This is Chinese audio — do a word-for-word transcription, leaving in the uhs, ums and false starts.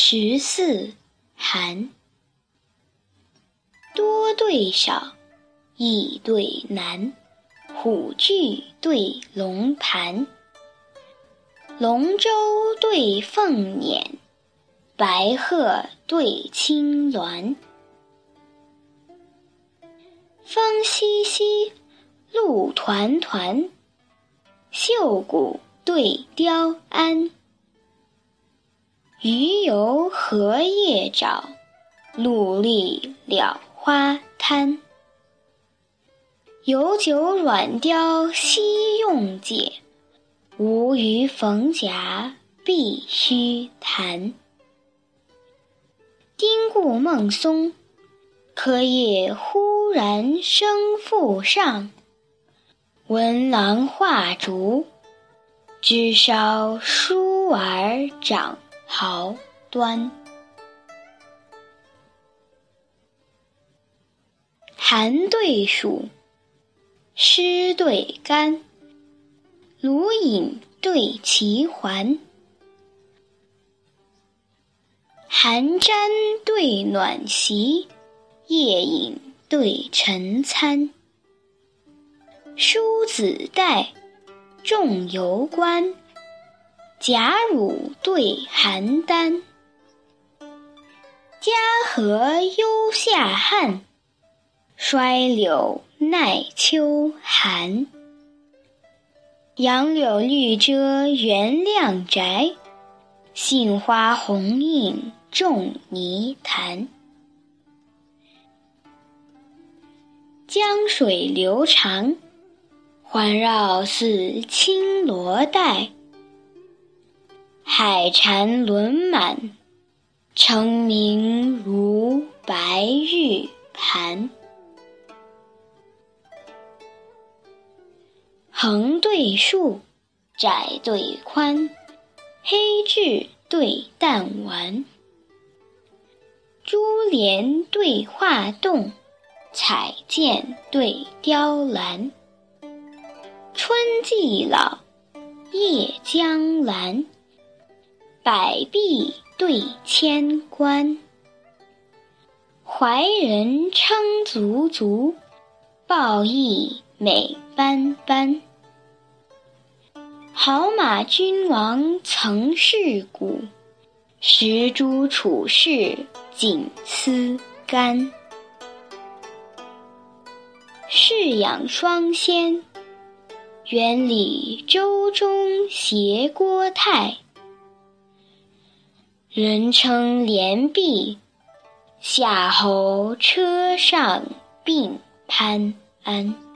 十四寒。多对少，易对难，虎踞对龙盘，龙舟对凤辇，白鹤对青鸾。风淅淅，露团团，秀骨对雕鞍。鱼游荷叶沼，陆立蓼花滩。有酒软雕悉用解，无鱼逢甲必须弹。丁固孟松，柯叶忽然生复上。闻郎画竹，枝梢疏而长毫端。寒对暑，湿对干，卢隐对齐桓。寒毡对暖席，夜饮对晨餐。梳子带，仲由观，贾汝对邯郸。嘉禾忧夏旱，衰柳耐秋寒。杨柳绿遮原亮宅，杏花红映仲尼潭。江水流长，环绕似青罗带。海蟾轮满，澄明如白玉盘。横对竖，窄对宽，黑雉对淡丸。珠帘对画栋，彩剑对雕栏。春既老，夜将阑，百壁对千关。怀人称足足，抱翼美斑斑。好马君王曾是骨，石珠处士锦丝干。侍养双仙，园里舟中携郭泰。人称连璧，夏侯车上并攀鞍。